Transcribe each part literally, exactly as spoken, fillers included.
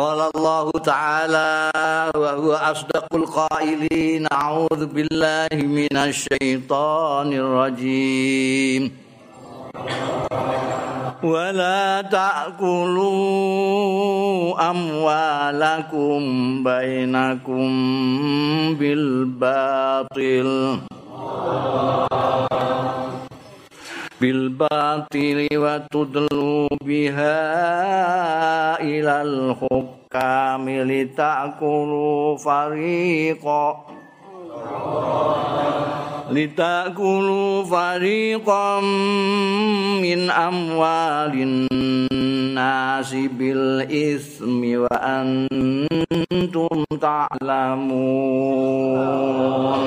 Qala Allah Ta'ala wa huwa asdaqul qailin a'udzu billahi minasy syaithanir rajim wa la ta'kulu amwalakum bainakum bil batil bil batili wa tudlu biha ilal hukami litakulu fariqa litakulu fariqam min amwalin nasi bil ismi wa antum ta'lamun.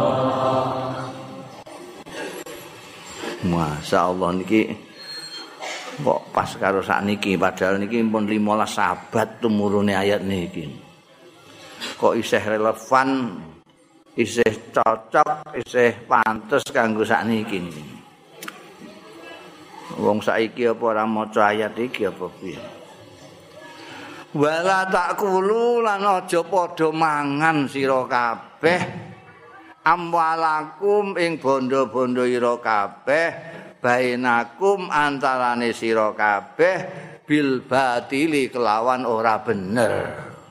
Masya Allah niki kok pas karo sakniki padahal niki pun lima belas abad tumurune ayat niki. Kok isih relevan, isih cocok, isih pantes kanggo sakniki niki. Wong saiki apa ora maca ayat iki apa piye? Wala takulu lan aja padha mangan sira kabeh amwalakum ing bondo-bondo ira kabeh bainakum antarane sira kabeh bil batili kelawan ora bener.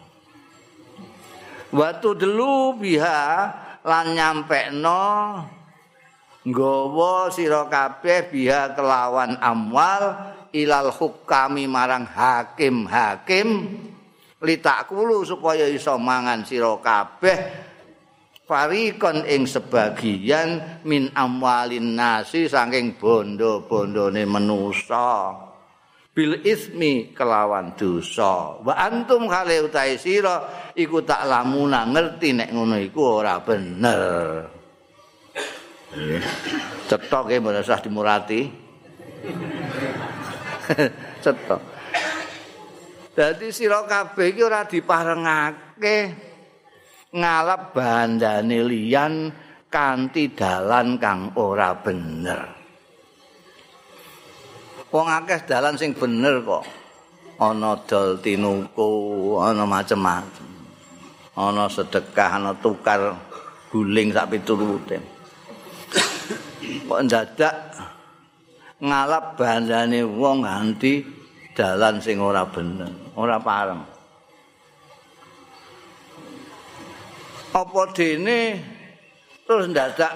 Wa tudlu biha lan nyampekno nggawa sira kabeh biha kelawan amwal ilal hukami marang hakim-hakim litakulu supaya iso mangan sira kabeh farikon ing sebagian min amwalin nasi saking bondo-bondone manusa bil ismi kelawan dosa wa antum khale utahe sira iku tak lamuna ngerti nek ngono iku ora bener. Cetok e mboten usah dimurati. Cetok. Dadi sira kabeh iki ora diparengake ngalap bandane liyan kanthi dalan kang ora bener. Wong akeh dalan sing bener kok. Ana dol tinuku, ana macem-macem. Ana sedekah, ana tukar guling sak piturute. Kok ndadak ngalap bandane wong nganti dalan sing ora bener, ora pareng. Apa dene terus ndadak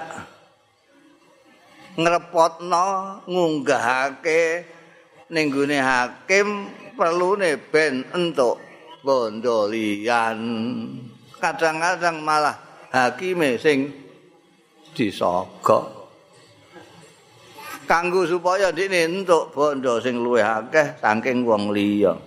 ngrepotno ngunggahake ning gone hakim perlune ben entuk bondo liyan. Kadang-kadang malah hakime sing disogok kanggo supaya dene entuk bondo sing luwih akeh saking wong liya.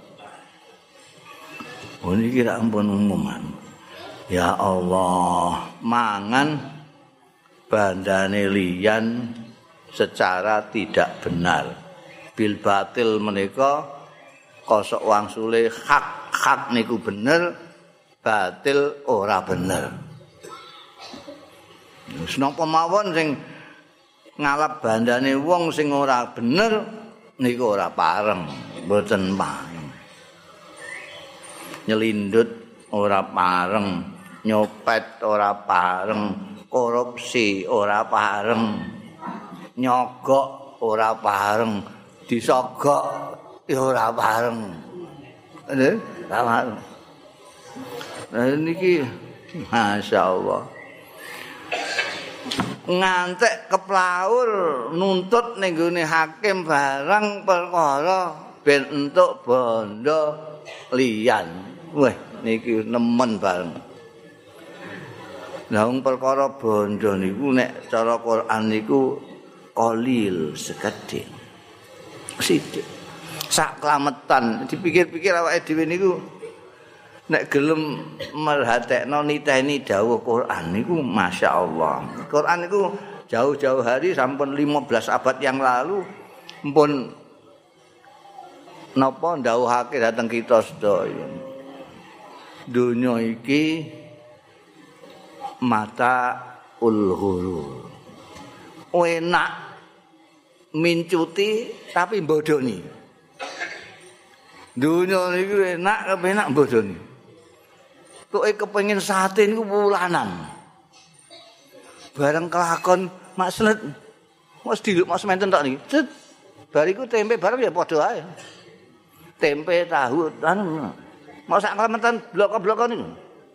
Oh niki ra ampun umuman. Ya Allah, mangan bandane liyan secara tidak benar. Bil batil menika kosok wangsule hak-hak niku bener, batil ora bener. Wis napa mawon sing ngalap bandane wong sing ora bener niku ora pareng, mboten pareng. Nyelindut ora pareng. Nyopet ora pareng, korupsi ora pareng, nyogok ora pareng, disogok ora pareng. Nggih, pareng. Nah niki masyaallah. Ngantek keplaur nuntut ning gone hakim barang perkara ben entuk bondo liyan. Wah, niki nemen bareng. Lah wong perkara bondo niku nek cara Quran niku qalil sekedhik. Sithik. Sak klametan dipikir-pikir awake dhewe niku nek gelem merhatekno niteni dawuh Quran niku masyaallah. Quran niku jauh-jauh hari sampun lima belas abad yang lalu mpun napa ndawuhake dhateng kita sedaya. Dunya iki mata ulhurur. Enak mincuti tapi bodoni. Dunya niku enak kepenak bodoni. Tuke kepengin sate niku wulanan. Bareng kelakon makslet. Mas diluk mas menten tok niki. Cet. Bariku tempe bareng ya padha ae. Tempe tahu anu. Mau sak klemetan blok-blok niku.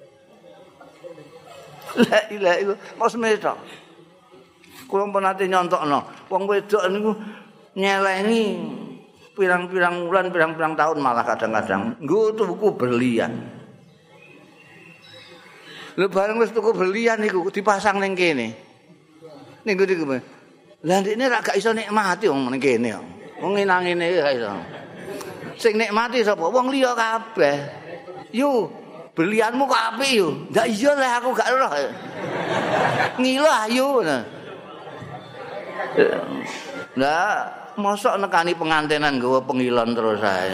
La ilaha illallah. Mas metok. Kula pun nate nyontokno. Wong wedok niku nyelengi pirang-pirang bulan, pirang-pirang tahun malah kadang-kadang nggo tuku berlian. Lha bareng wis tuku berlian niku dipasang ning kene. Ning niku. Lah ndekne ra gak iso nikmati wong ning kene. Wong ngene gak iso. Sing nikmati sapa? Wong liya kabeh. Yu, berlianmu kok apik yo. Ndak iya lah aku gak roh. Ngilah yu. Lah, mosok nekani pengantenan nggawa pengilon terus ae.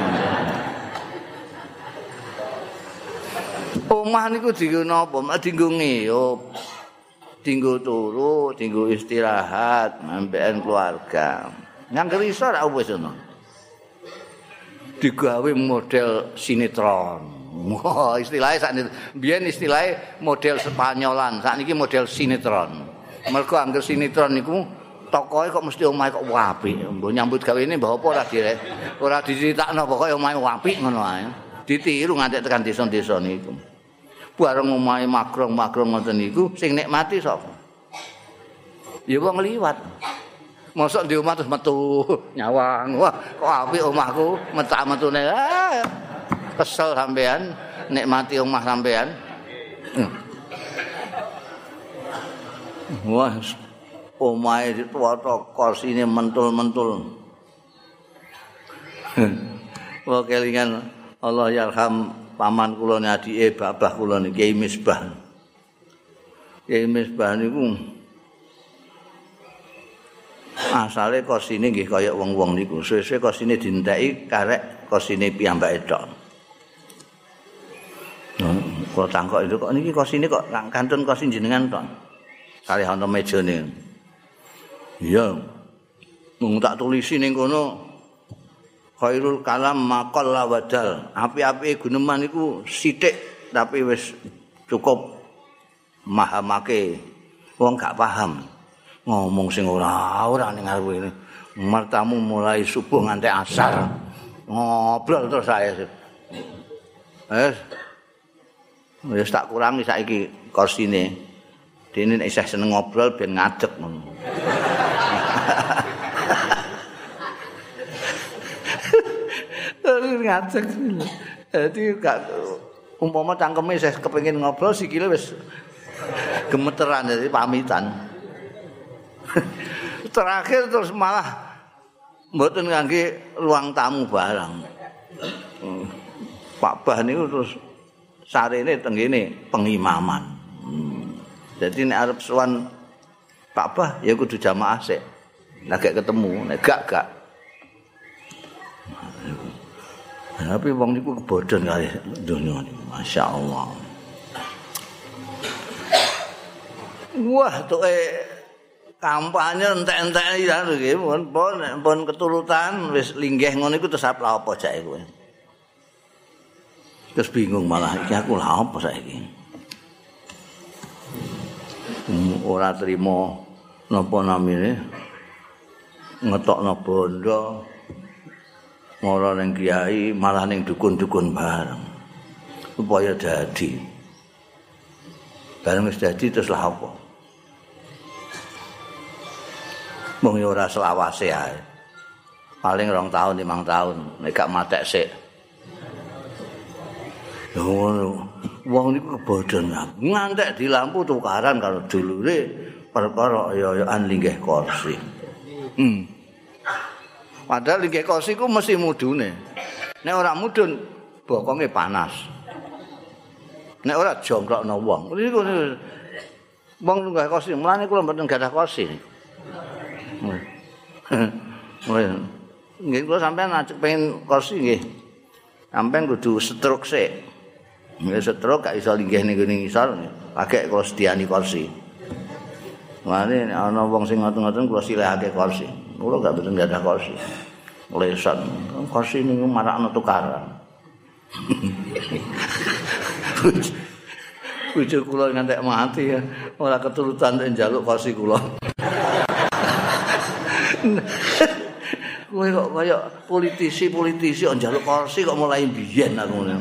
Omah niku dienggo napa? Dienggo ngiyup. Dienggo turu, dienggo istirahat, ambekan keluarga. Yang iso ra wis ngono. Digawe model sinetron. Wah, istilahnya saat ini, biyen istilahnya model Spanyolan, saat ini model sinetron. Mergo angger sinetron niku tokoe kok mesti omahe kok apik. Mbok nyambut gawe ini mbah apa ora direk. Ora diceritakno pokoke omahe apik ngono ae. Ditiru nganti tekan desa-desa niku. Bareng omahe magrong-magrong ngoten niku sing nikmati sapa? Ya wong liwat. Mosok di omah terus metu nyawang. Wah, kok apik omahku, metak-metune. Ah, kesel sampean nikmati omah sampean. Wah, omahe ditata kursine mentul-mentul. Wah, kelingan Allah yarham paman kula ne adike babah kula niki Kiai Misbah. Kiai Misbah niku asale kosine nggih kaya wong-wong niku. Suwe-suwe kosine dinteki karek kosine piyambake tok. Nah, kula tangkok itu kok niki kosine kok kantun kosin jenengan tok. Kalih ana mejane. Iya. Mung tak tulisi ning kono khairul kalam maqal wadal. Api-api guneman iku sithik tapi wis cukup mahamake. Wong gak paham. Ngomong sing ora-ora ning arep ini. Martamu mulai subuh nganti asar. Ngobrol terus saya. Wes. Wis tak kurangi saiki kursine. Dene nek isih seneng ngobrol ben ngadeg ngono. Terus ngadeg. Dadi gak umpama cangkeme isih kepengin ngobrol sikile wis gemeteran dadi pamitan. Terakhir terus malah mboten ngangge ruang tamu barang. Pak Bah niku terus sarene tenggene pengimaman. Hmm. Jadi nek arep sowan Pak Bah ya kudu jamaah sik. Nek gak ketemu, nek gak gak. Tapi wong niku kebodhon kali donya niku, masyaallah. Wah, tuke kampanye entek-entek ya nggih pun pun pun keturutan wis linggih ngono iku terus apa apa jake kowe. Terus bingung malah iki aku lha apa saiki. Hmm, ora trimo napa namine ngetokno bondo mara ning kiai malah ning dukun-dukun bareng supaya dadi. Bareng wis dadi terus lha apa? Mung ora selawase ae. Paling rong tahun, limang tahun, nek gak matek sik. Lho ngono. Wong niku kebodhon. Ngantek di lampu tukaran karo dulure perkara ya-yan linggih kursi. Hmm. Padahal linggih kursi ku mesti mudune. Nek ora mudun bokonge panas. Nek ora jongkrokno wong. Niku wong linggih kursi, mulane kula mboten gadah kursi. Nggih kula sampean ajek pengen kursi nggih. Sampean kudu stroke sik. Nggih stroke gak iso linggih ning ngene ngisor, pakai kula sediani kursi. Mane ana wong sing ngoten-ngoten kula silehake kursi. Kula gak mboten gadah kursi. Lesan kursi niku marakno tukaran. Bojo kula ngantek mati ya, ora keturutan nek njaluk kursi kula. Kowe kok kaya politisi-politisi kok njaluk kursi kok mulai biyen aku ngono.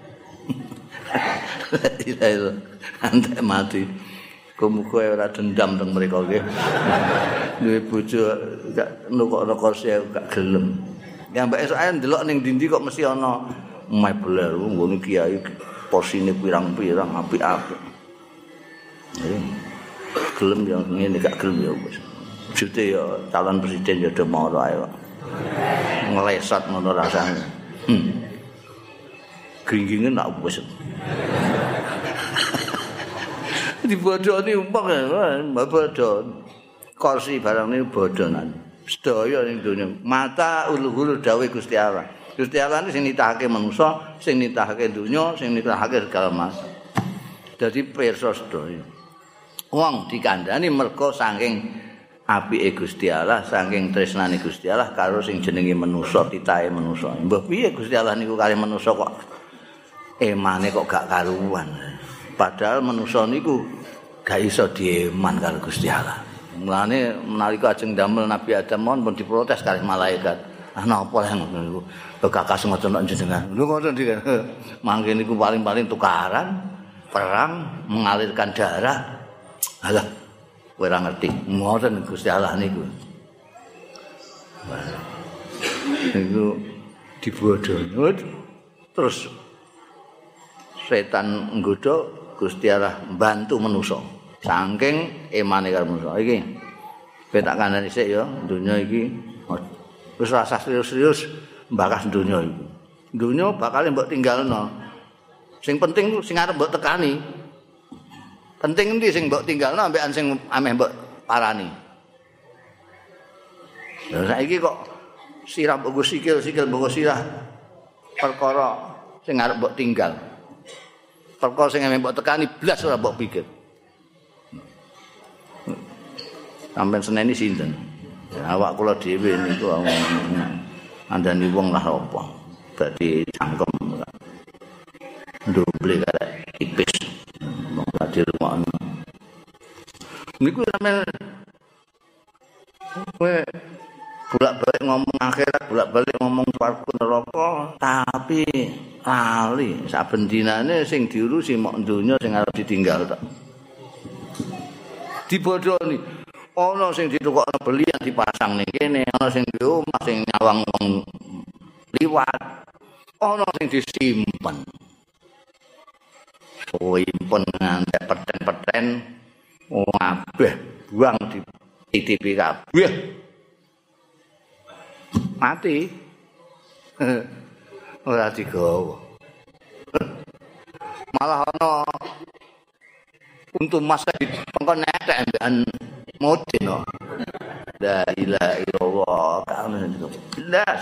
Iya itu, ngantek mati. Muga ora dendam teng mriko nggih. Duwe bojo gak nukokno kursi gak gelem. Ya mbak esuk ae ndelok ning ndi kok mesti ana mebel nggone kiai posine pirang-pirang apik-apik. Gelem ya ngene gak gelem ya wis. Jute ya calon presiden ya do moro ae kok. Ngelesat ngono rasane. Hmm. Gringgingen nak wis. Dibodoni umpang ya, bodon. Kursi barang ini bodonan. Sedaya ning donya. Mata ulu-ulu dawuh Gusti Allah. Gusti Allah ini sing nitahake manusa, sing nitahake donya, sing nitahake segala macam. Dadi pirsa sedaya. Wong dikandhani merga saking apike Gusti Allah, saking tresnane Gusti Allah karo sing jenenge manusa, titahe manusa. Mbah piye Gusti Allah niku kali manusa kok emane kok gak karuan. Padahal manusa niku gak iso dieman karo Gusti Allah. Mulane menalika ajeng damel Nabi Adam mon pun diprotes kali malaikat. Ah napa leh ngono niku? Bekakas ngoten nek jenengan. Lho ngoten iki. Mangke niku paling-paling tukaran, perang, mengalirkan darah. Alah, kowe ora ngerti. Ngoten Gusti Allah niku. Niku dibodoh. Terus setan nggodha Gusti Allah bantu manusa saking emane karo manusa iki ben tak kandhani sik ya donya iki wis rasa serius-serius mbakas donya iki donya bakal mbok tinggalno sing penting ku sing arep mbok tekani penting endi sing mbok tinggalno ambekan sing ameh mbok parani lha saiki kok sirah mbok sikil sikil mbok sirah perkara sing arep mbok tinggal perkara sing mbok tekani blas ora mbok pikir. Sampeyan seneni sinten? Ya, awak kula dhewe niku andani wong lah apa. Dadi cangkem. Ndoble karek tipis. Wong dadi rumono. Niku sampeyan kowe bolak-balik ngomong akhirat, bolak-balik ngomong swarga neraka, tapi lali saben dinane sing diurusi mok donya sing arep ditinggal tok. Dibodoni. Ana sing ditukokno belian dipasang ning kene, ana sing di omah sing nyawang wong liwat. Ana sing disimpen. Simpen nganti peten-peten kabeh buang di titipi kabeh. Mati. Ora digawa. Malah ana untuk masa di pengkon netek ambekan modin no. La ilaha illallah kamu belas.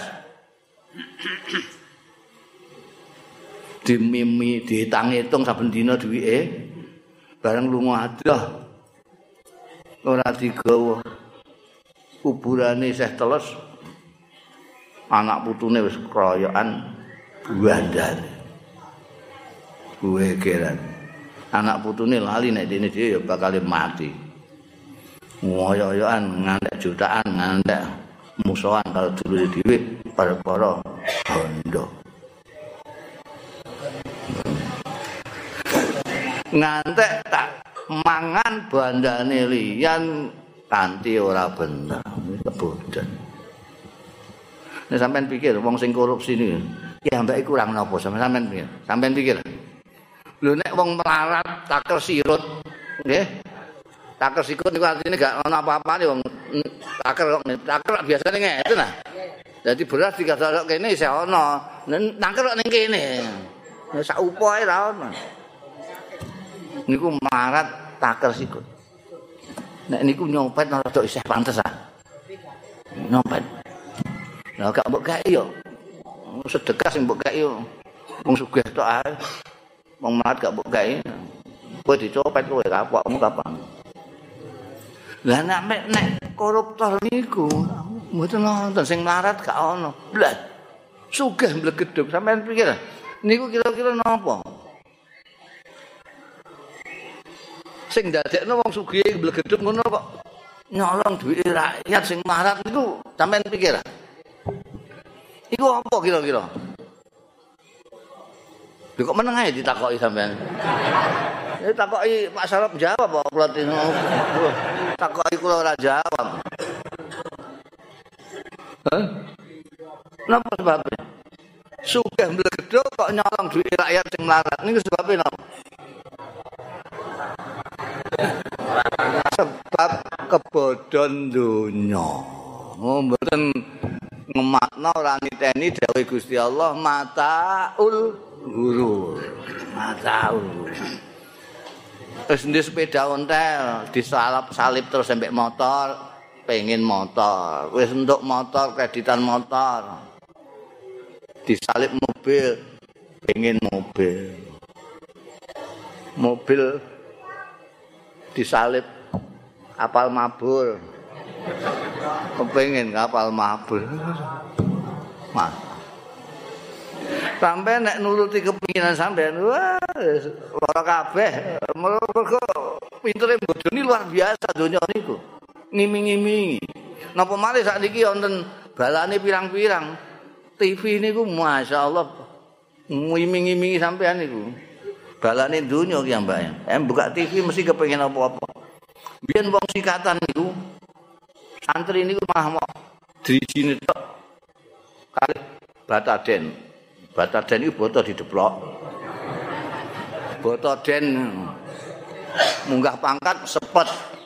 Dimimi ditang-itung saben dina duwike bareng lunga adah. Ora digawa. Kuburane Syekh Teles anak putune wis kroyokan buandane. Kuwe keran. Anak putune lali nek dene dhewe ya bakal mati. Ngoyo-oyoan ngantek jutaan, ngantek musuhan kalau dulure dhewe para-para bondo. Ngantek tak mangan bandane liyan kanthi ora bener. Kebodohan. Nek sampean pikir wong sing korupsi niku, ya mbake kurang napa sampean pikir? Sampean pikir. Lho nek wong melarat taker sirut, nggih. Taker sikut niku artine gak ana apa-apane wong taker kok taker biasane ngeten nah. Dadi beras dikasok kene isih ana, taker kok ning kene. Nek sak upo ae ra ono. Niku melarat taker sikut. Nek niku nyopet rada isih pantesan. Nyopet. Lah gak mbok gawe yo. Sedekah sing mbok gawe yo. Wong sugih tok ae. Wong melarat gak mbok gawe. Kowe dicopet kowe kapokmu kapan? Lah nek nek koruptor niku Mboten nonton sing melarat gak ono. Blas. Sugih mblegedhuk sampean pikir niku kira-kira napa? Sing ndadekno wong sugih mblegedhuk ngono kok nyolong duit rakyat sing melarat niku sampean pikir. Iku apa kira-kira? Lho kok meneng ae ditakoki sampean. Ya takoki Pak Sarap jawab kok kula takoki kula ora jawab. Hah? Napa sebabnya? Sugih mblegedhuk kok nyolong duit rakyat sing melarat niku sebabnya napa? Sebab kebodhon donya. Oh mboten ngemakna ora niteni dawuh Gusti Allah mataul gurur. Mataul. Terus di sepeda ontel disalap salip terus sampai motor, pengen motor. Wis untuk motor kreditan motor. Disalip mobil, pengen mobil. Mobil disalip kapal mabur. Kepengen kapal mabur. Mas. Sampai nek nuruti kepinginan sampean, wah, lara kabeh. Mergo pintere bodoni luar biasa donya niku. Ngiming-imingi. Napa malih sakniki wonten balane pirang-pirang. T V niku masyaallah ngiming-imingi sampean niku. Balane donya ki mbak. Em buka T V mesti kepengin apa-apa. Biyen wong sikatan niku santri niku malah mau drijine tok kali Bataden. Bataden itu boto dideplok. Boto den munggah pangkat sepet.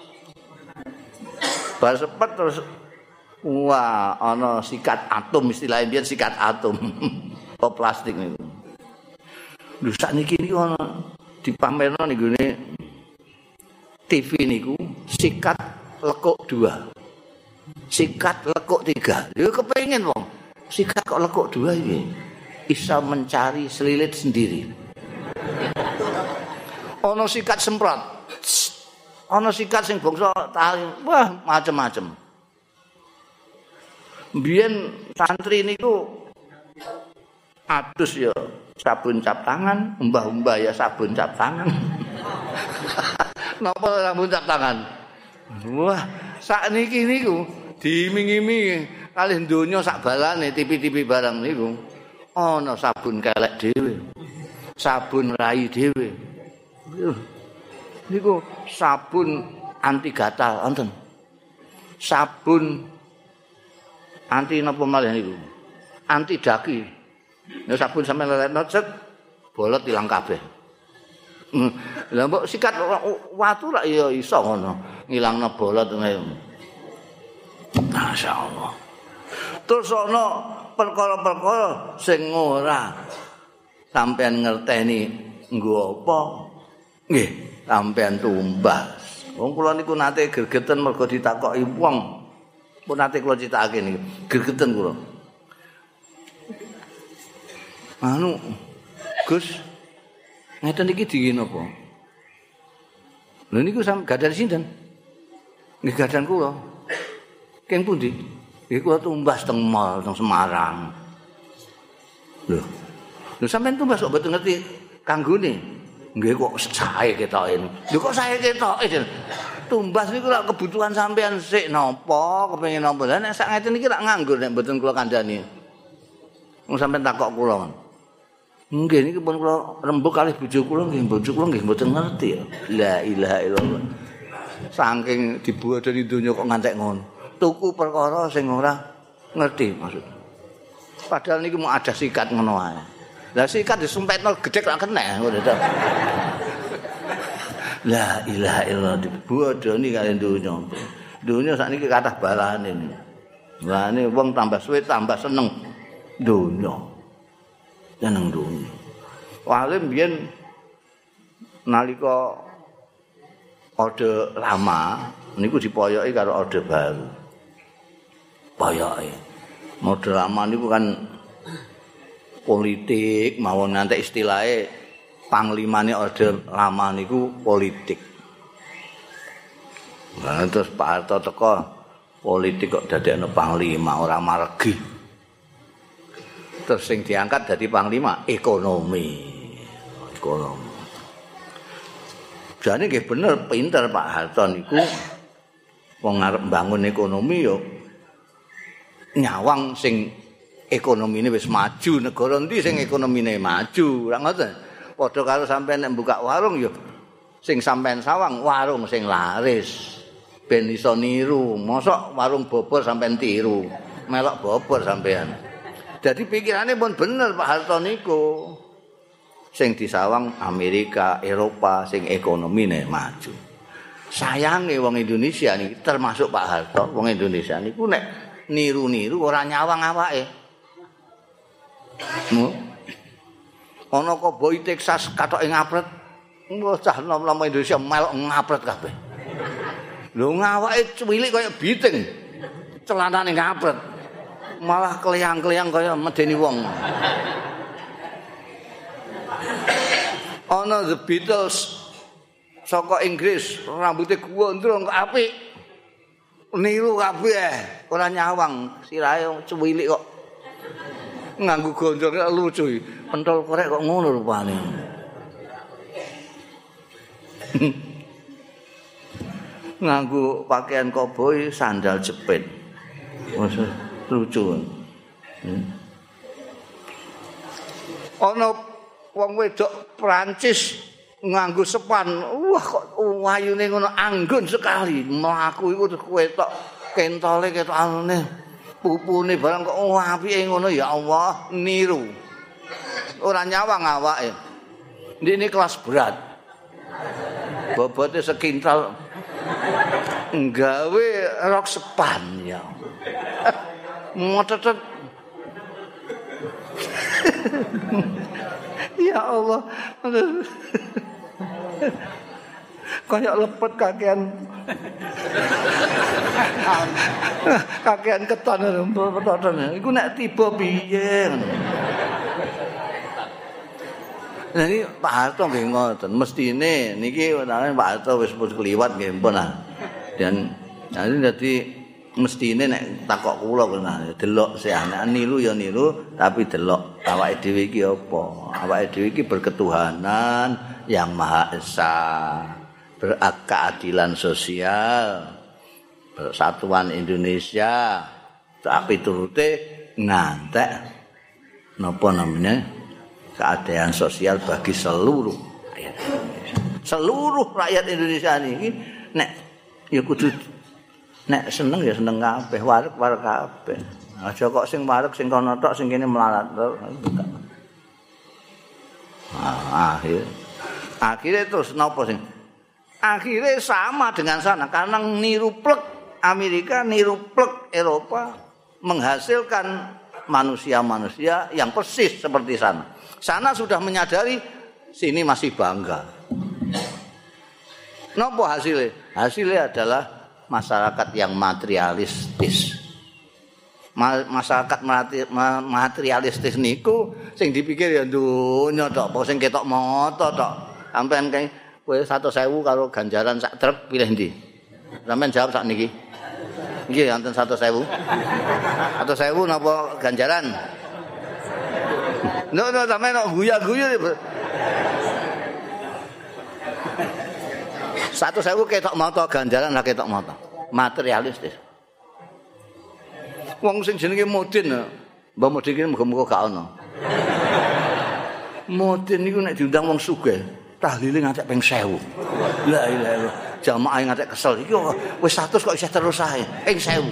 Bar sepet terus wah ana sikat atom istilahnya biyen sikat atom. Oh plastik niku. Lho sakniki niku ana dipamerno ning gone T V niku sikat lekuk dua. Sikat lekuk tiga. Lho kepengin wong. Sikat kok lekuk dua iki. Bisa mencari selilit sendiri. Ono sikat semprot. Ono sikat sing bangsa tali. Wah, macem-macem. Biyen santri niku adus ya sabun cap tangan, mbah-mbah ya sabun cap tangan. Napa sabun cap tangan? Wah, sakniki niku diiming-imingi kalih donya sak balane T V-T V barang niku. Ana sabun kelek dhewe. Sabun rai dhewe. Niku sabun anti gatal wonten. Sabun anti napa malih niku? Anti daki. Nek sabun sampe leletno cet bolot ilang kabeh. Lah mbok sikat watu lak ya iso ngono, ngilangno bolot ngene. Masyaallah. Terus ana perkara-perkara sing ora sampean ngerteni nggo apa nggih sampean tumbas. Wong kula niku nate gregeten mergo ditakoki wong. Pun nate kula critakake niku gregeten kula. Anu Gus ngeten iki dingin apa? Lha niku sampe gadan sinten? Nggih gadan kula. Keng pundi? Iki kula tumbas teng mall teng Semarang. Lho. Lho sampean tumbas kok mboten ngerti kanggone. Nggih kok sae ketoke. Lho kok sae ketoke. Tumbas niku lak kebutuhan sampean sik napa, kepengin napa. Lah nek sak ngeten iki lak nganggur nek mboten kula kandhani. Wong sampean takok kula. Nggih niki pun kula rembug kalih bojo kula nggih bojo kula nggih mboten ngerti. La ilaha illallah. Saking dibuadani donya kok ngantek ngono. Tuku perkara sing ora ngerti maksud. Padahal niku mau ada sikat ngono ae. Lah sikat disumpetno gedhek lak kena ngono to. La ilaha illallah dibodoni kali donya. Donya sakniki kathah balane. Lah ne wong tambah suwe tambah seneng donya. Seneng donya. Wale mbiyen nalika orde lama niku dipoyoki karo orde baru. Poyoke. Orde lama niku kan politik mawon ngantek istilahé panglimane orde lama niku politik. Nah, terus Pak Harto teko politik kok dadekno panglima ora maregi. Terus sing diangkat dadi panglima ekonomi. Ekonomi. Jane nggih bener pinter Pak Harto niku wong arep mbangun ekonomi yo nyawang sing ekonomine wis maju, negara endi sing ekonomine maju, ora ngoten. Padha karo sampean nek buka warung yo sing sampean sawang warung sing laris. Ben iso niru, mosok warung bobor sampean tiru, melok bobor sampean. Jadi pikirannya pun bener Pak Harto niku. Sing disawang Amerika, Eropa, sing ekonomine maju. Sayange wong Indonesia niki termasuk Pak Harto, wong Indonesia niku nek niru-niru ora nyawang awake. Mu. Ana koboi Texas katoke ngapret. Wah cah nom-nom Indonesia melok ngapret kabeh. Lho ngawake cuwilik kaya biting. Celanane ngapret. Malah kleyang-kleyang kaya medeni wong. Ana The Beatles saka Inggris, rambutnya gondrong kok apik. Niru kabeh, ora nyawang, sirahe cuwilik kok. Nganggo gondrong lucu. Pentol korek kok ngono rupane. Nganggo pakaian koboi, sandal jepit. Maksud lucu. Hmm. Ana wong wedok Prancis nganggo sepan. Wah kok wayune ngono anggun sekali. Mlaku iku ketok kentole ketok anune. Pupune barang kok apike ngono ya Allah, niru. Ora nyawang awake. Ndine kelas berat. Bobote sekintal nggawe rok sepan ya. Motetet. Ya Allah. Kayak lepet kakean. Kakean keton petoten. Iku nek tiba piye. Nah ini Pak Harto nggih ngoten. Mestine niki Pak Harto wis kliwat nggih pun ah. Dan nanti dadi mestine nek takok kula kena delok sih anak niru ya niru tapi delok awake dhewe iki apa? Awake dhewe iki berketuhanan yang Maha Esa, berkeadilan sosial, persatuan Indonesia, tapi turute ngantek napa namanya keadaan sosial bagi seluruh rakyat Indonesia. Seluruh rakyat Indonesia ini nek ya kudu nek seneng ya seneng kabeh, wareg-wareg kabeh. Aja kok sing wareg sing kono tok sing kene melarat. Ah, akhir. Akhirnya terus napa sing? Akhirnya sama dengan sana karena niru plek Amerika, niru plek Eropa menghasilkan manusia-manusia yang persis seperti sana. Sana sudah menyadari sini masih bangga. Napa hasilnya? Hasilnya adalah masyarakat yang materialistis. Masyarakat materialistis niku sing dipikir ya donya tok, apa sing ketok mata tok. Sampeyan kae kowe seratus ribu karo ganjaran sak trep pilih ndi? Sampeyan jawab sak niki. Nggih wonten seratus ribu. seratus ribu napa ganjaran? No no sampeyan kok guya-guyu. seratus ribu ketok mata ganjaran lah ketok mata. Materialistis. Wong sing jenenge Modin, Mbah Modin iki muga-muga gak ono. Modin niku nek diundang wong sugih, tahlile ngantek ping seribu. La ilaha illallah. Jamaah ngantek kesel iki wis seratus kok isih terus ae, ping seribu.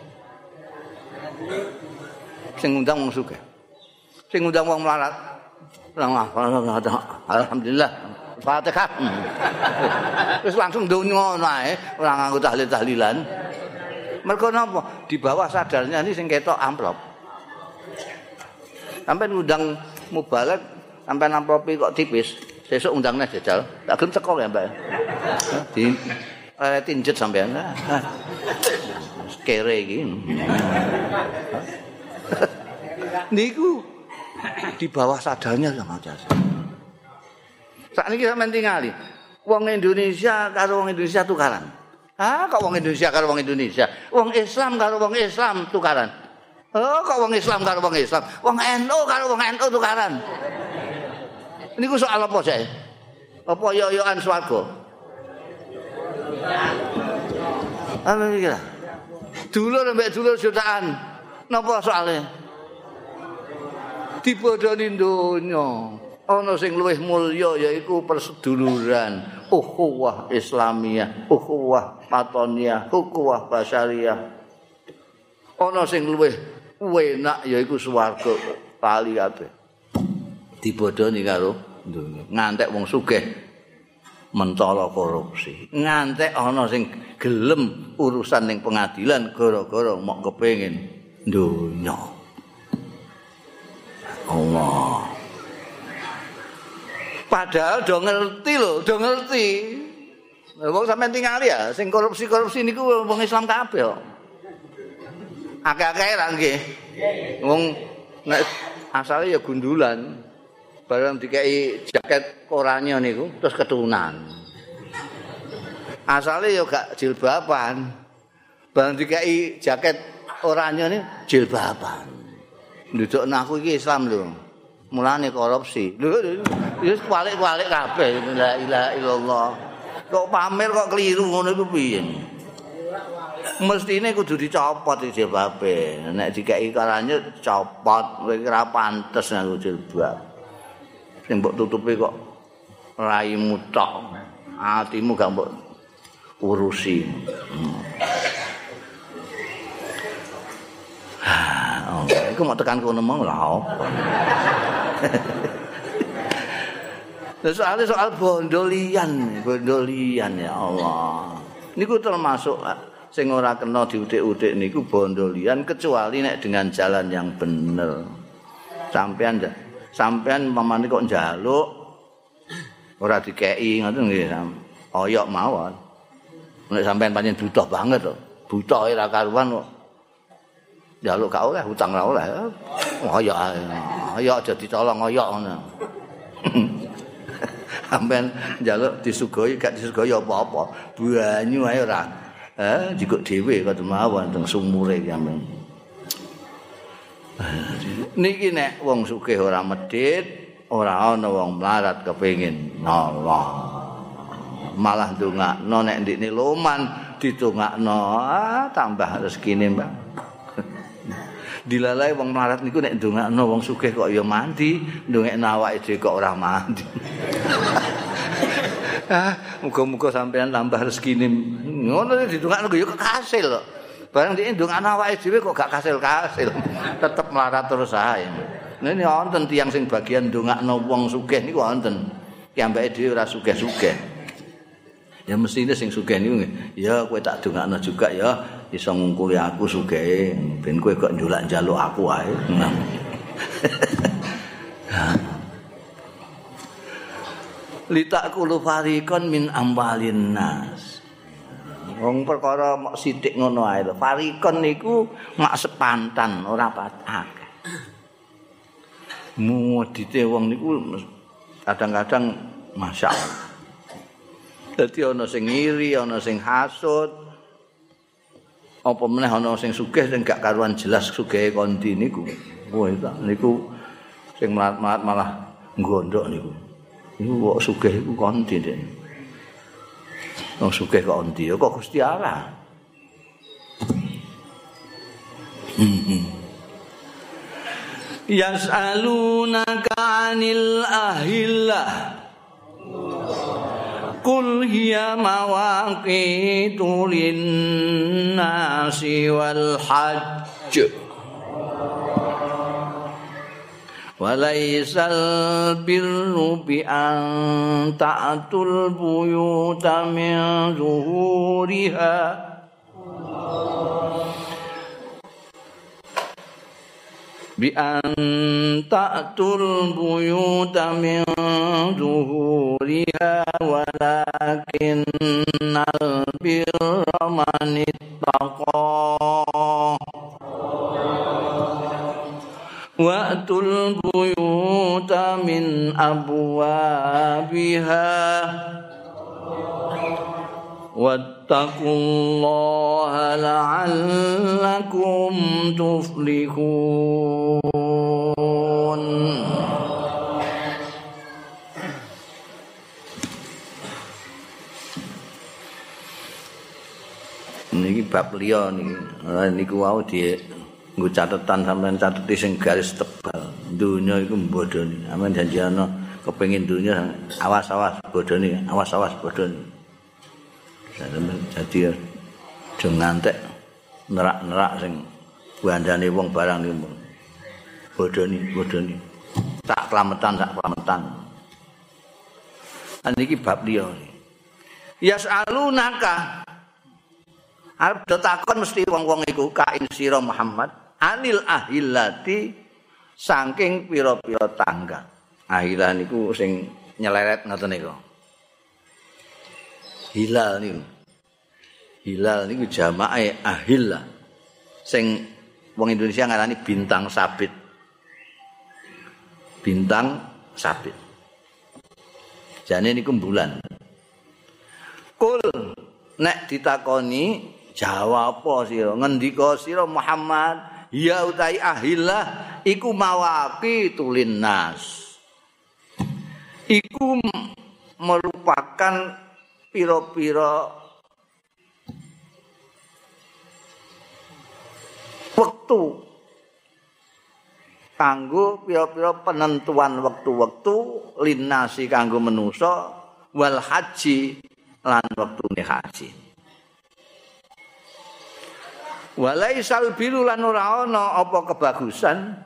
Sing ngundang wong sugih. Sing ngundang wong melarat. Alhamdulillah. Fatihah. Wis langsung donga ngono ae, ora nganggo tahlil-tahlilan. Mergo napa? Di bawah sadarnya ini sing ketok amplop. Sampai ngundang mubalek, sampai amplopi kok tipis, sesuk undangnya jajal. Tak gelem teko ya, Mbak. Di eh tinjet sampean. Kere iki. Niku di bawah sadarnya sama aja. Sakniki sampean tingali. Wong Indonesia karo wong Indonesia tukaran. Ah, kok wong Indonesia karo wong Indonesia, wong Islam karo wong Islam tukaran. Oh, kok wong Islam karo wong Islam, wong N U karo wong N U tukaran. Niku soal apa sih? Apa yo-yoan swarga? Apa iki lah? Dulur mbek dulur jutaan. Napa soalnya? Dibodoni donya. Ana sing luwih mulya yaiku perseduluran, ukhuwah Islamiyah, ukhuwah Matoniyah, ukhuwah Basyariyah. Ana sing luwih enak yaiku swarga kali kabeh. Dibodoni karo donya. Ngantek wong sugih mentala korupsi. Ngantek ana sing gelem urusan ning pengadilan gara-gara mok kepengin donya. Allah. Padahal do ngerti lho, do ngerti. Wong sampean tingali ya, sing korupsi-korupsi niku wong Islam kabeh kok. Akeh-akeh ra nggih. Wong nek asale ya gundulan. Barang dikei jaket oranye niku terus keturunan. Asale ya gak jilbaban. Barang dikei jaket oranye niku jilbaban. Ndudukna aku iki Islam lho. Mulane korupsi. Lho wis balik-balik kabeh la ilaha illallah. Kok pamer kok keliru ngono iku piye? Mestine kudu dicopot jilbabe. Nek dikeki karane copot, kowe ora pantes nganggo jilbab. Sing mbok tutupi kok raimu tok. Atimu gak mbok urusi. Oh, iku mau tekan kono mau lha apa. Soalnya soal bondolian, bondolian ya Allah. Niku termasuk sing ora kena diutik-utik niku bondolian kecuali nek dengan jalan yang bener. Sampean sampean pamane kok njaluk ora dikeki ngoten nggih. Oyok mawon. Nek sampean pancen butuh banget to. Butuh ora karuan kok. Njaluk gak oleh, utang ora oleh. Oyok ae. Oyok aja dicolong oyok ngono. Sampeyan njaluk disugoi gak disugoi apa-apa. Banyu ae ora. Eh, jikuk dhewe kok mawon teng sumure sampeyan. Niki nek wong sugih ora medhit, ora ana wong melarat kepengin nolong. Malah ndongakno nek ndikne loman ditungakno, ah, tambah rezekine, Mbak. Dilalai wong melarat niku nek ndongakno wong sugih kok ya mandi, ndongekno awake dhewe kok ora mandi. Ah, muga-muga sampean tambah rezekine. Ngono didongakno ya kasil kok. Barang dhek ndongakno awake dhewe kok gak kasil-kasil. Tetep melarat terus ae. Nene wonten tiyang sing bagian ndongakno wong sugih niku wonten. Piyambake dhewe ora sugih-sugih. Ya mestine sing sugih niku ya kowe tak dongakno juga ya iso ngungkuli aku sugih ben kowe kok njulak njaluk aku ae. Litakulu fariqon min amwalin nas. Wong perkara mok sithik ngono ae lho. Fariqon niku mak sepantan ora patak. Mudite wong niku kadang-kadang masyaallah. Dadi ana sing ngiri, ana sing hasud. Apa meneh ana sing sugih sing gak karuan jelas sugihe kondi niku. Wah, niku sing malat-malat malah nggondhok niku. Niku kok sugih iku kondi den. Wong sugih kok kondi kok Gusti Allah. Yas'alunaka 'anil ahillah. Qul hiya mawaqitu lin-nasi wal hajj wa laysal birru bi an ta'tul buyuta min zuhuriha bi an ta'tul buyuta min zuhuriha walakinnal birra man ittaqa wa'tul buyuta min abwabiha wa wattaqullaha la'allakum tuflihun. Niki bab liya niki. Niku wau di nggo catetan sampean cateti sing garis tebal. Dunya iku mbodoni. Sampeyan janji ana kepengin dunya awas-awas bodoni, awas-awas bodoni. Jadi aja ngantek nerak-nerak sing bandane wong barang niku. Bodoni, bodoni. Tak klametan, tak klametan. Niki bab liya. Yas'alunaka arep do takon mesti wong-wong iku ka ing sira Muhammad anil ahillati saking pira-pira tanggal. Ahilah niku sing nyeleret ngoten niku. Hilal niku. Hilal niku jamae ahillah. Sing wong Indonesia ngarani bintang sabit. Bintang sabit. Jane niku bulan. Kul nek ditakoni jawab apa sira ngendika sira Muhammad ya utai ahillah iku mawaqitul nas iku merupakan pira-pira wektu kanggo pira-pira penentuan wektu-wektu linasi kanggo manusa wal haji lan wektune haji. Walaisal biru lan ora ana apa kebagusan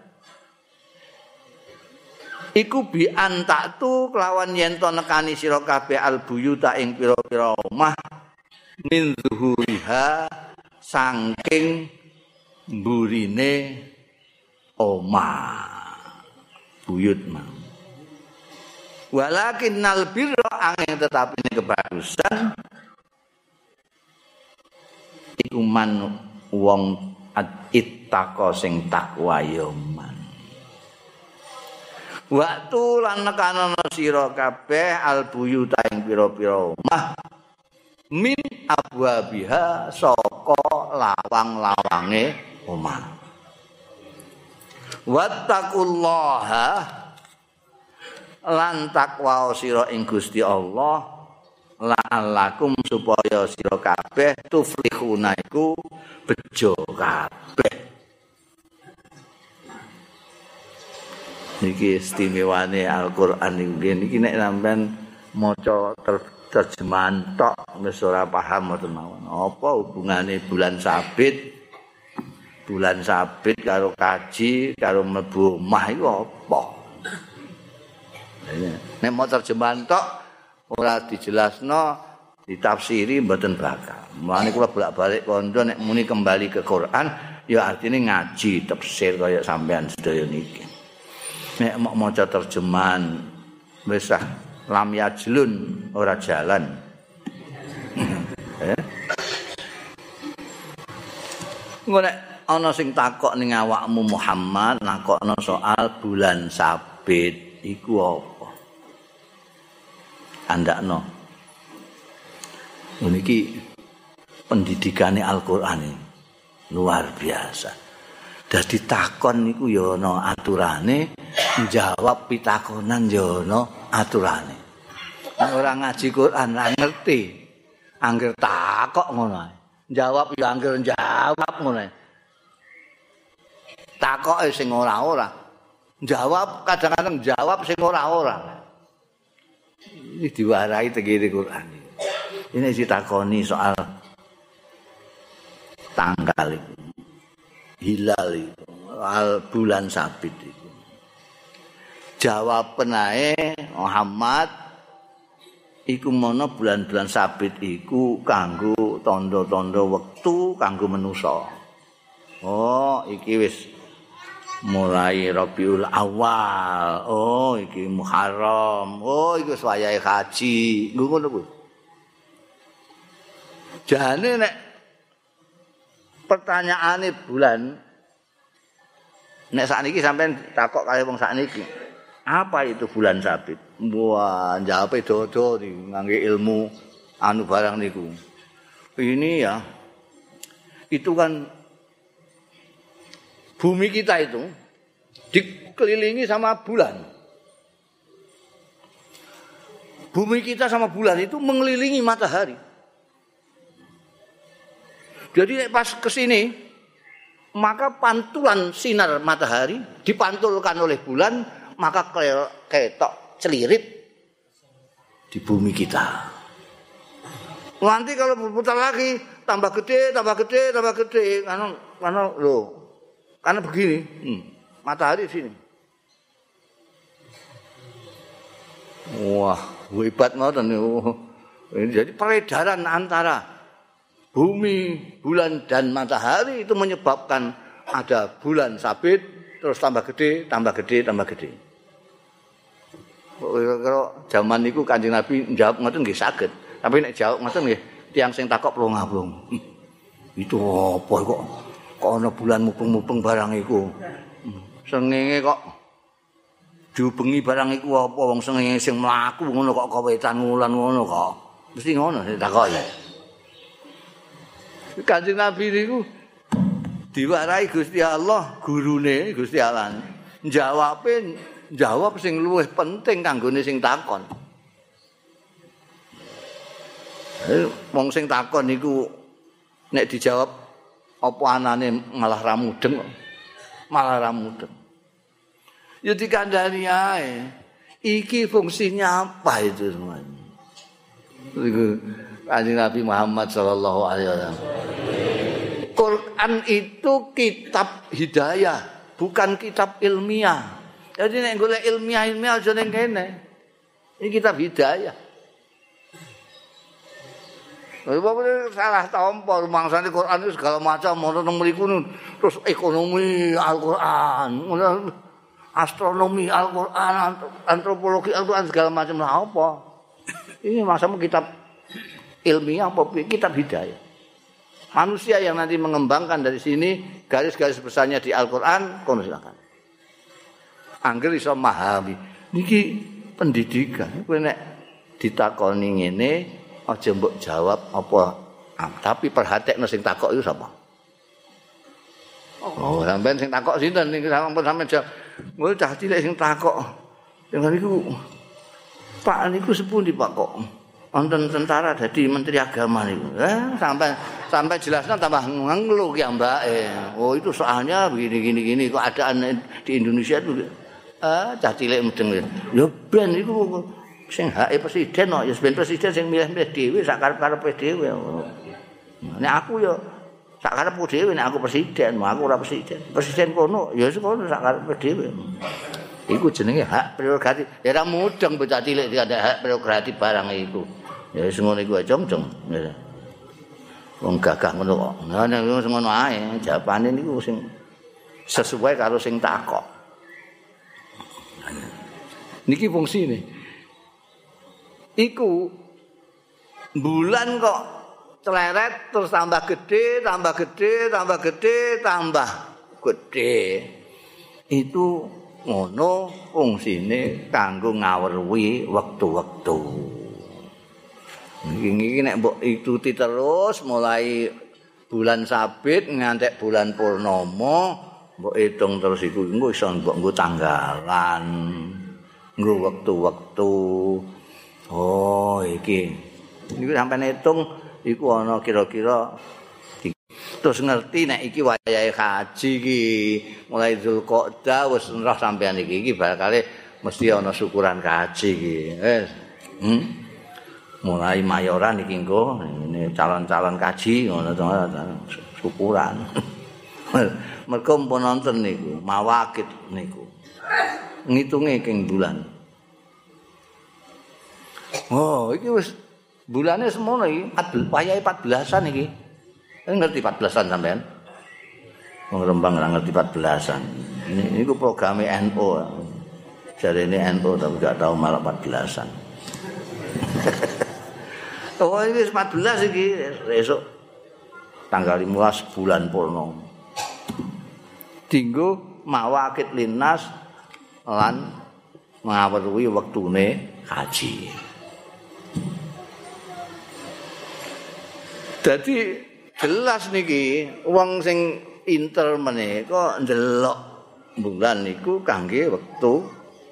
iku bi antaktu kelawan yen to nekani sira kabeh albuyuta ing pira-pira omah min zuhuriha saking mburine omah buyut mah walakinnal birra angin tetapi kebagusan iku man wong ittaqo sing takwa ya man. Waktu lan nekanono sira kabeh albuyuta ing pira-pira omah min abwabiha saka lawang-lawange omah. Wattaqullaha lan takwa sira ing Gusti Allah la'allakum supaya sira kabeh tuflihuna iku bejo kabeh. Niki istimewane Al-Qur'an iki niki nek sampean maca terjemahan tok wis ora paham mboten mawon. Apa hubungane bulan sabit bulan sabit karo kaji karo mlebu omah iku apa? Nek mau terjemahan tok ora dijelasno ditafsiri mboten bakal. Mulane kula bolak-balik kandha nek muni kembali ke Quran ya artine ngaji tafsir kaya sampean sedaya niki. Nek mau maca terjemahan wis ah lam yajlun ora jalan. eh? Engko nek ana sing takok ning awakmu Muhammad nakokno soal bulan sabit iku apa? Andakno. Niki pendidikane Al-Qur'an luar biasa. Dadi takon niku ya ana aturane, njawab pitakonan ya ana aturane. Nek ora ngaji Qur'an ora ngerti. Angger takok ngono ae. Jawab ya angger jawab ngono ae. Takoke sing ora-ora. Jawab kadang-kadang jawab sing ora-ora. Ini diwarai tegiri Quran. Ini ditakoni soal tanggal itu, hilal itu, soal bulan sabit itu. Jawab penae Muhammad iku mono bulan-bulan sabit iku kanggo tondo-tondo wektu kanggo manusa. Oh, iki wis mulai Rabiul Awal. Oh, iki Muharram. Oh, iki wis wayahe haji. Ngono kuwi. Jane nek pertanyaane bulan nek sakniki sampean takok kaya wong sakniki. Apa itu bulan sabit? Wah, jawabe dodo ngangge ilmu anu barang niku. ini ya, itu kan bumi kita itu dikelilingi sama bulan. Bumi kita sama bulan itu mengelilingi matahari. Jadi pas ke sini, maka pantulan sinar matahari dipantulkan oleh bulan, maka ketok celirit di bumi kita. Nanti kalau berputar lagi tambah gede, tambah gede, tambah gede, karena karena lo, karena begini, hmm, matahari di sini. Wah, hebat banget ini. Jadi peredaran antara bumi, bulan dan matahari itu menyebabkan ada bulan sabit, terus tambah gede, tambah gede, tambah gede. Kalau zaman itu Kanjeng Nabi jawab ngoten nggih saged. Tapi nek jawab ngoten nggih tiyang sing takok plong-plong. Itu apa kok kok ana bulan mupeng-mupeng barang iku. Sengenge kok diubengi barang iku apa wong sengenge sing mlaku ngono kok kawetan wulan ngono kok. Mesti ngono sing takoki. Kanjeng Nabi niku diwarai Gusti Allah, gurune Gusti Allah. Jawabe jawab sing luwih penting kanggone sing takon. Wong sing takon niku nek dijawab apa anane malah ra mudeng, malah ra mudeng. Ya dikandani ae. Iki fungsinya apa itu semuanya? Iku Kanjeng Nabi Muhammad sallallahu alaihi wasallam. Quran itu kitab hidayah, bukan kitab ilmiah. Jadi nek golek ilmiah-ilmiah aja ning kene. Ini kitab hidayah. Bapak salah tampa rumangsane Quran itu segala macam ono nang mriku terus ekonomi Al-Qur'an, astronomi Al-Qur'an, antropologi Al-Qur'an segala macam lah apa. Ini masamu kitab ilmiah apa kitab hidayah. Manusia yang nanti mengembangkan dari sini garis-garis besarnya di Al-Qur'an kono silakan. Angger iso memahami. Niki pendidikan. Kowe nek ditakoni ngene aja mbok jawab apa, ah, tapi perhatekno sing takok iku sapa? Oh, sampean sing takok sinten niki sampun sampean jawab. Ngono cah cilik sing takok. Dengan niku Pak niku sepundi Pak kok wonten tentara dadi menteri agama niku. Eh sampai sampai jelasnya tambah ngelu ki mbake. Oh itu soalnya begini gini gini keadaan di Indonesia itu ah cah cilik mudeng. Ya ben iku sing hake presiden kok ya ben presiden sing milih-milih dhewe sak karep-karepe dhewe. Nek aku ya sak karepku dhewe nek aku presiden, aku ora presiden. Presiden kono ya kono sak karepe dhewe. Iku jenenge hak prerogatif. Ya ora mudeng bocah cilik ada hak prerogatif barang iku. Ya wis ngono iku aja jong. Wong gagah ngono kok. Nah nek ngono ae jawabane niku sing sesuai karo sing takok. Niki fungsine. Iku bulan kok celeret terus tambah gede, tambah gede, tambah gede, tambah gede. Itu ngono fungsine kanggo ngaweruhi wektu-wektu. Iki nek mbok ikuti terus mulai bulan sabit ngantek bulan purnama, mbok hitung terus iku engko iso mbok nggo tanggalan, nggo wektu-wektu. Oh, iki. Niku sampeyan hitung iku ana kira-kira terus ngerti nek iki wayahe haji iki mulai Zulqa'dah wis roh sampeyan iki iki bakale mesti ana syukuran haji iki. Wis. Hmm? Mulai mayoran iki engko ini calon-calon kaji ngono to syukuran. Mergo mpun nonton niku mawakit niku. Ngitunge king bulan. Oh, iki wis bulane semono iki, wayahe empat belasan iki. Ngerti empat belasan sampean? Wong Rembang ora ngerti empat belasan. Ini niku programe N U. Jarene N U tapi gak tahu malah empat belasan. Oh, ini empat belas iki esuk tanggal lima belas bulan purnama. Dinggo mawakit linnas lan ngaweruhi wektune haji. Dadi jelas niki wong sing inter menika ndelok bulan niku kangge wektu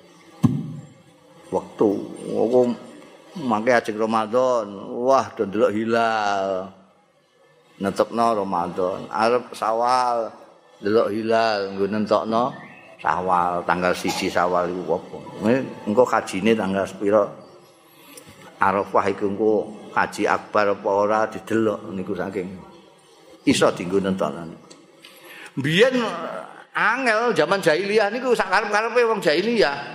wektu aku mangke ajeng Ramadan wah do ndelok hilal netepno Ramadan arep Syawal ndelok hilal nggo nentokno Syawal tanggal siji Syawal iku apa engko kajine tanggal sepira Arafah iku engko haji akbar apa ora didelok niku saking iso dienggo nentokno biyen angel zaman jahiliyah niku sak karep-karepe wong jahiliyah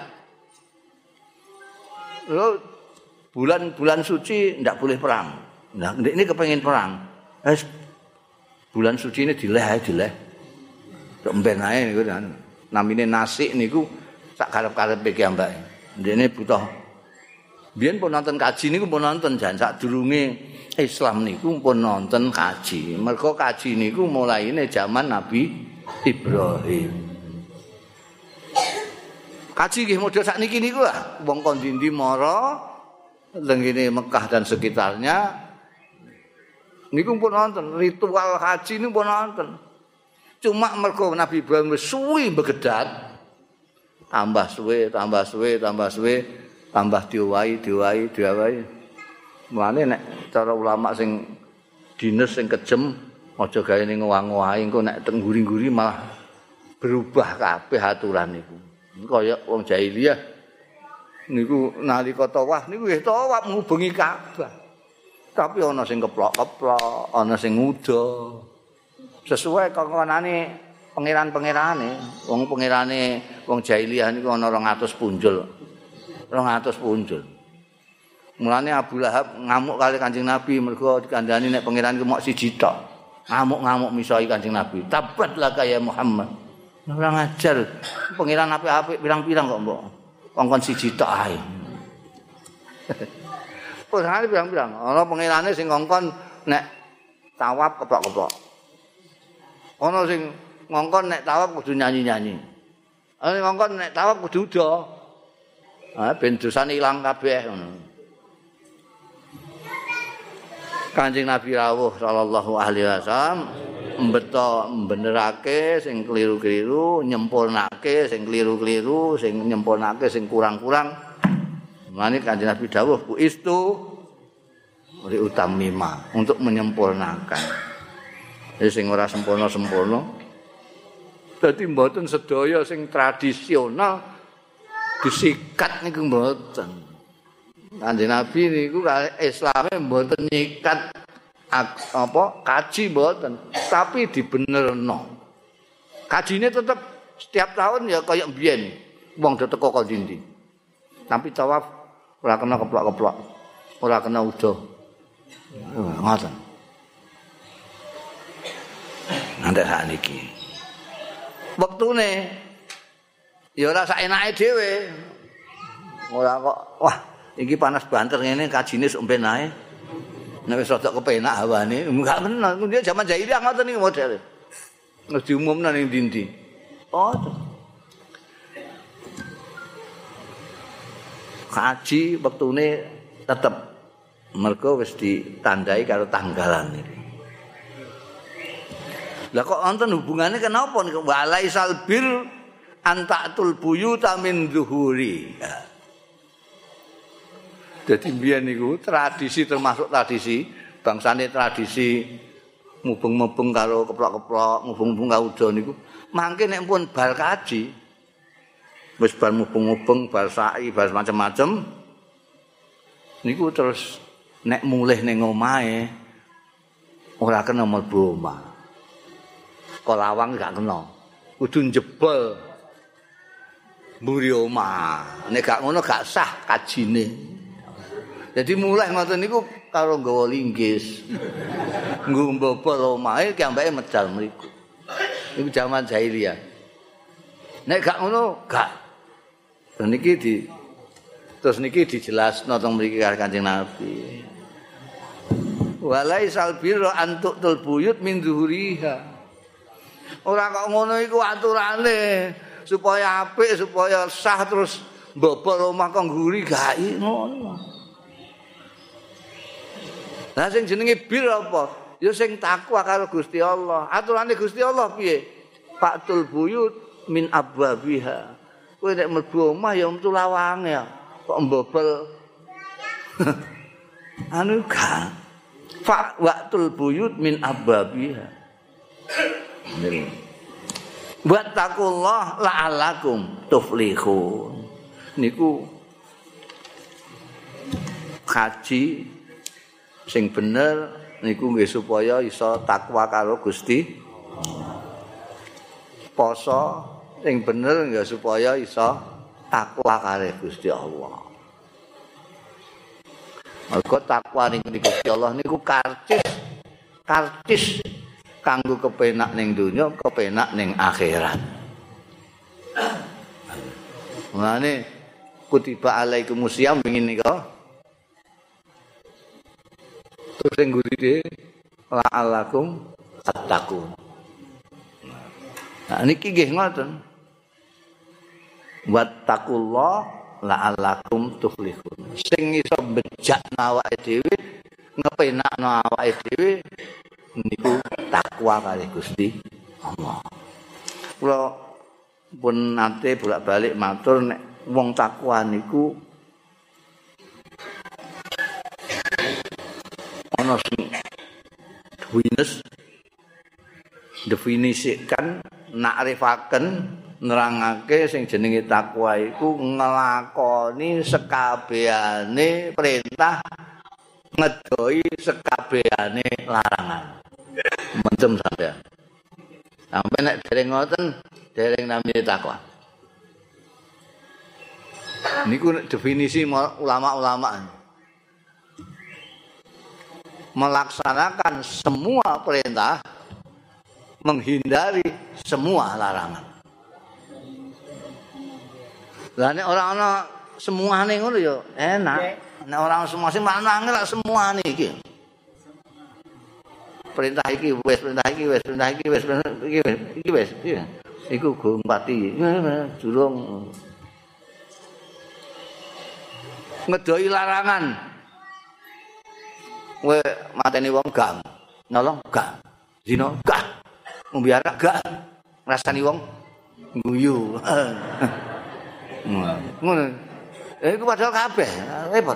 lho bulan-bulan suci ndak boleh perang. Nah, ini kepengen perang. Eh, bulan suci ini dileh ae dileh. Tok mben ae niku namine nasik niku sak karep-karepe ki ambake. Ndene butuh. Biyen pun nonton kaji niku pun nonton jan sak durunge Islam niku pun nonton kaji. Mergo kaji niku mulaine zaman Nabi Ibrahim. Kaji nggih model sakniki niku lah. Wong kon ndi mara tengene Mekah dan sekitarnya niku pun nonton ritual haji niku pun nonton. Cuma mergo Nabi Ibrahim wis suwi begedat tambah suwe, tambah suwe, tambah suwe, tambah diwai, diwai, diwai. Mulane nek cara ulama sing dines sing kejem aja gawe ning ngowah-ngowahi engko nek tengguri-guri malah berubah kabeh aturan niku. Kaya wong jahiliyah niku nalika tawaf niku nggih tawaf ngubengi Ka'bah. Tapi ana sing keplok-keplok, ana sing nguda. Sesuai kongkonane pangeran-pangerane. Wong pangerane wong jahiliyah niku ana rong atus punjul. rong atus punjul. Mulane Abu Lahab ngamuk kali Kanjeng Nabi mergo dikandhani nek pangeran iku mok siji tok. Ngamuk-ngamuk misoi Kanjeng Nabi. Tabat laka ya Muhammad. Ora ngajar. Pangeran apik-apik pirang-pirang kok mbok. Kongkon siji tok ae. Pangeran pirang-pirang. Ana pangerane sing kongkon nek tawaf keplok-keplok. Ana sing ngongkon nek tawaf kudu nyanyi-nyanyi. Ana sing ngongkon nek tawaf kudu uda. Ah ben dosane ilang kabeh ngono. Kanjeng Nabi rawuh sallallahu alaihi wasallam mbeto mbenerake sing keliru-keliru, nyempurnake sing keliru-keliru, sing nyempurnake sing kurang-kurang. Mane Kanjeng Nabi dawuh bu istu li utamima untuk menyempurnakan. Jadi sing ora sempurna-sempurna. Dadi mboten sedaya sing tradisional disikat niku mboten. Kanjeng Nabi niku Islame mboten nyikat apa kaji mboten, tapi dibenerno. Kajine tetep setiap tahun ya kaya mbiyen wong do teko kok ndi. Tapi tawaf ora kena keplok-keplok. Ora kena uda. Ngoten. Nanti sakniki. Wektune ya ora sak enake dhewe. Ora kok wah iki panas banter ngene kajine sok mben ae. Nek wis rada kepenak hawane, enggak bener. Dia zaman jahiliyah ngoten iki modele. Wis diumumno ning ndi-ndi. Oh. Kaji wektune tetep mergo wis ditandai karo tanggalan iki. Lah kok wonten hubungane kenapa niku walaisal bir antatul buyuta min zuhuri. Jadi mbiyen niku tradisi termasuk tradisi bangsane tradisi mubeng-mubeng karo keplok-keplok, mubeng-mubeng karo uda niku. Mangke nek pun bar kaji wis bar mubeng-mubeng, bar sa'i, bar macam-macam niku terus nek mulih ning omahe ora kena mlebu omah. Kolawang gak kena. Kudu njebol mburi omah. Nek gak ngono gak sah kajine. Jadi mulai ngoten niku karo nggawa linggis. Nggo mbobol omahe ki ambake medal mriku. Niku zaman jahiliyah. Nek gak ngono gak. Dan niki di terus niki dijelasno teng mriki karo Kanjeng Nabi. Walaisal birra antutul buyut min zuhuriha. Ora kok ngono iku aturane supaya apik supaya sah terus mbobol omah kok ngguri gak ngono. Lah sing jenenge bir apa? ya sing takwa karo Gusti Allah. Aturane Gusti Allah piye? Fa'tul buyut min abwabiha. Kowe nek mlebu omah ya metu lawange ya. Kok mbobol. Anu kan. Fa wa'tul buyut min abwabiha. Wattaqullah la'allakum tuflihun. Niku kaji sing bener niku nggih supaya iso takwa karo Gusti. Poso sing bener nggih supaya iso takwa karo Gusti Allah. Mergo takwa ning Gusti Allah niku karcis karcis kanggo kepenak ning donya, kepenak ning akhirat. Mulane kutiba alaikumusiyam wingi nika. Terus sing guride la'allakum tattaqun. Nah niki nggih ngoten. Wattaqullah la'allakum tuflihun. Sing iso bejakna awake dhewe, ngepenakno awake dhewe niku takwa kali Gusti Allah. Kula pun nate bolak-balik matur nek wong takwa niku ana sing wines definisikan nakrifaken nerangake sing jenenge takwa iku nglakoni sekabehane perintah ngedoi sekabehane larangan. Mentem sampean. Sampai nek dereng ngoten dereng namine takwa. Niku definisi ulama-ulama. Melaksanakan semua perintah, menghindari semua larangan. Lah nek ora ana semuane ngono ya enak. Nek ora semua sing manangel semuane iki. Perintah iki wis, perintah iki wis, perintah iki wis, iki wis, iki wis. Iku go pati. Durung ngedoi larangan. Kowe mateni wong gak, nolong gak. Zina gak. Mbiara gak. Ngrasani wong guyu. Ngono. Eh iku padahal kabeh repot.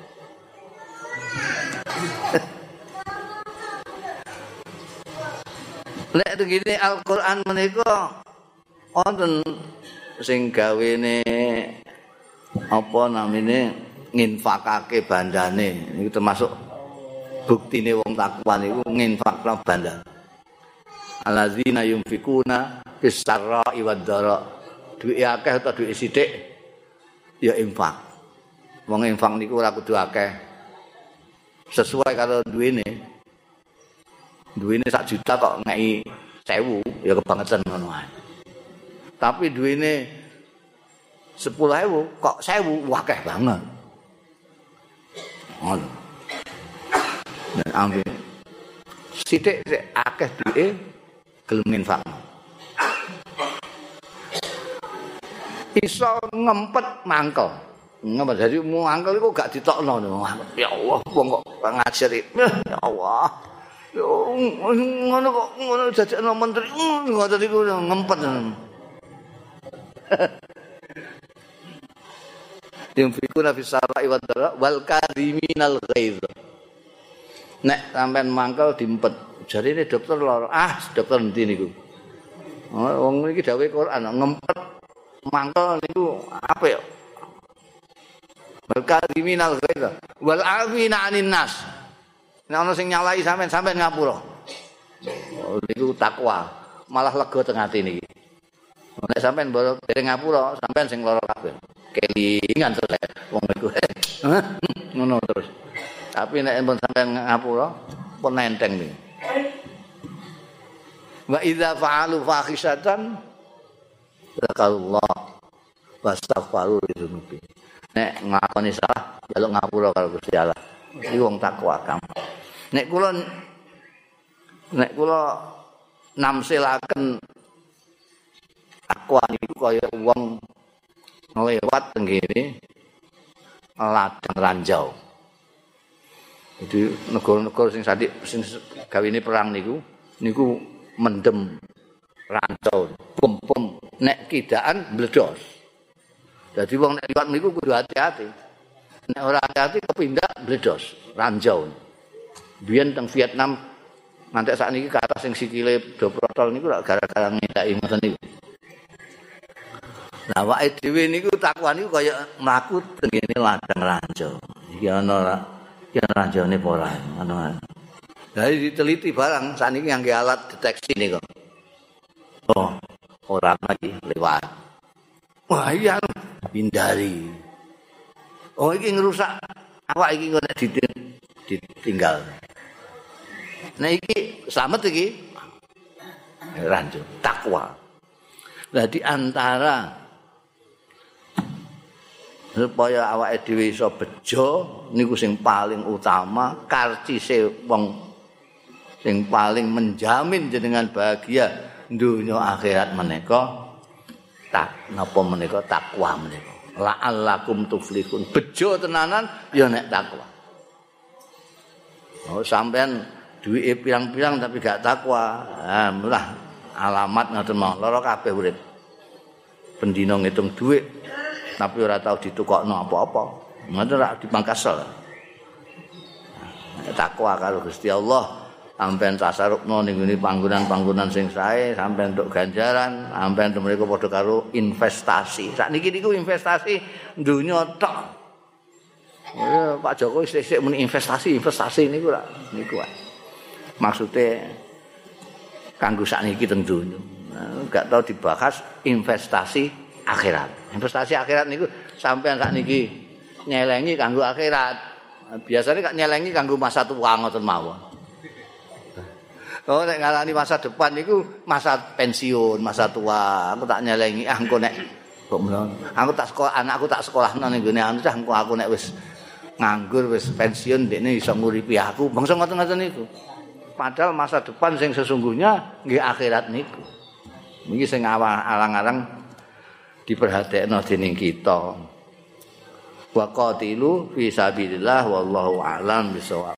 Lek begini Al-Qur'an menika wonten sing gawene apa namine nginfakake bandane niku termasuk buktine wong takwa niku nginfakna bandane. Allazina yunfikuna fis sarra'i wad dara. Duwe akeh utawa duwe sithik ya infak. Wong infak niku ora kudu akeh. Sesuai karo duwene. Duwene sak juta kok ngeki sewu ya kebangetan ngono ae. Tapi duwene sepuluh ewu kok sewu akeh banget. Ngono. Nek ambil sithik sik akeh duwe gelem infak. Iso ngempet mangkel. Ngempet jadi mangkel iku gak ditokno. Ya Allah, wong kok ngajari. Ya Allah. Yo ngono kok ngono dadekno menteri ngoten iku ngempet. Yunfikuna fis sarai wad dara wal kadhiminal ghaiz. Nek sampean mangkel diempet. Jarine dokter lara. Ah, dokter endi niku? Wong iki dawuhe Quran ngempet mangkel niku apik. Wal kadhiminal ghaiz wal afina 'anin nas. Nek ana sing nyalai sampean sampean ngapura. Oh niku takwa, malah lega teng atine iki. Nek sampean mbok dereng ngapura, sampean sing lara kabeh. Kelingan terus wong iku. Ngono terus. Tapi nek pun sampean ngapura, pun nenteng iki. Wa idza fa'alu fahisatan zakallah wastaghfaru lidzunubi. Nek ngakoni salah, njaluk ngapura karo Gusti Allah. Iki wong takwa kamu. Nek kula nek kula namsilaken takwa niku kaya wong nglewat teng kene ladang ranjau. Jadi negara-negara sing sadik sing gawene perang niku niku mendem rancau, bom-bom nek kidaan bledos. Jadi wong nek liwat niku kudu hati-hati. Nek ora hati-hati kepindah bledos, rancau. Biyen teng Vietnam ngantek sakniki kata sing sikile do protol niku gara-gara ngedaki ngoten niku. Lah awake dhewe niku takwa niku kaya mlaku tengene ladang rancau. Iki ana iki rancane apa ora ngono. Lah diteliti barang sakniki ngangge alat deteksi niku. Oh, orang lagi lewat. Wah, iya hindari. Oh, iki ngerusak awak iki kok ditinggal. Nah iki selamat iki rancu takwa. Lah di antara supaya awake dhewe iso bejo niku sing paling utama, karcise wong sing paling menjamin jenengan bahagia dunya akhirat menika tak napa menika takwa menika. La'allakum tuflihun. Bejo tenanan ya nek takwa. Oh sampean duwike pirang-pirang tapi gak takwa. Ah mulah alamat ngoten mau lara kabeh urip. Pendina ngitung dhuwit tapi ora tau ditukokno apa-apa. Ngoten ora dipangkasel. Takwa karo Gusti Allah sampean tasarrufno ning ngene panggonan-panggonan sing sae, sampean entuk ganjaran, sampean mriku padha karo investasi. Sakniki niku investasi donya tok. Ya Pak Jokowi sik-sik muni investasi, investasi niku lak niku wae. Maksude kanggo sakniki teng donya. Nah, gak tau dibahas investasi akhirat. Investasi akhirat niku sampean sakniki nyelengi kanggo akhirat. Biasanya gak nyelengi kanggo masa tua ngoten mawon. Oh nek ngalani masa depan niku masa pensiun, masa tua. Aku tak nyelengi ah engko nek kok menawa. Aku tak sekolah anakku tak sekolahno ning gone anu cah engko aku nek wis nganggur wis pensiun dekne iso nguripi aku. Bangsa ngoten-ngoten niku. Padahal masa depan sing sesungguhnya nggih akhirat niku. Niki sing alang-alang diperhatekno dening kita. Wa qatilu fi sabilillah wallahu a'lam bisawab.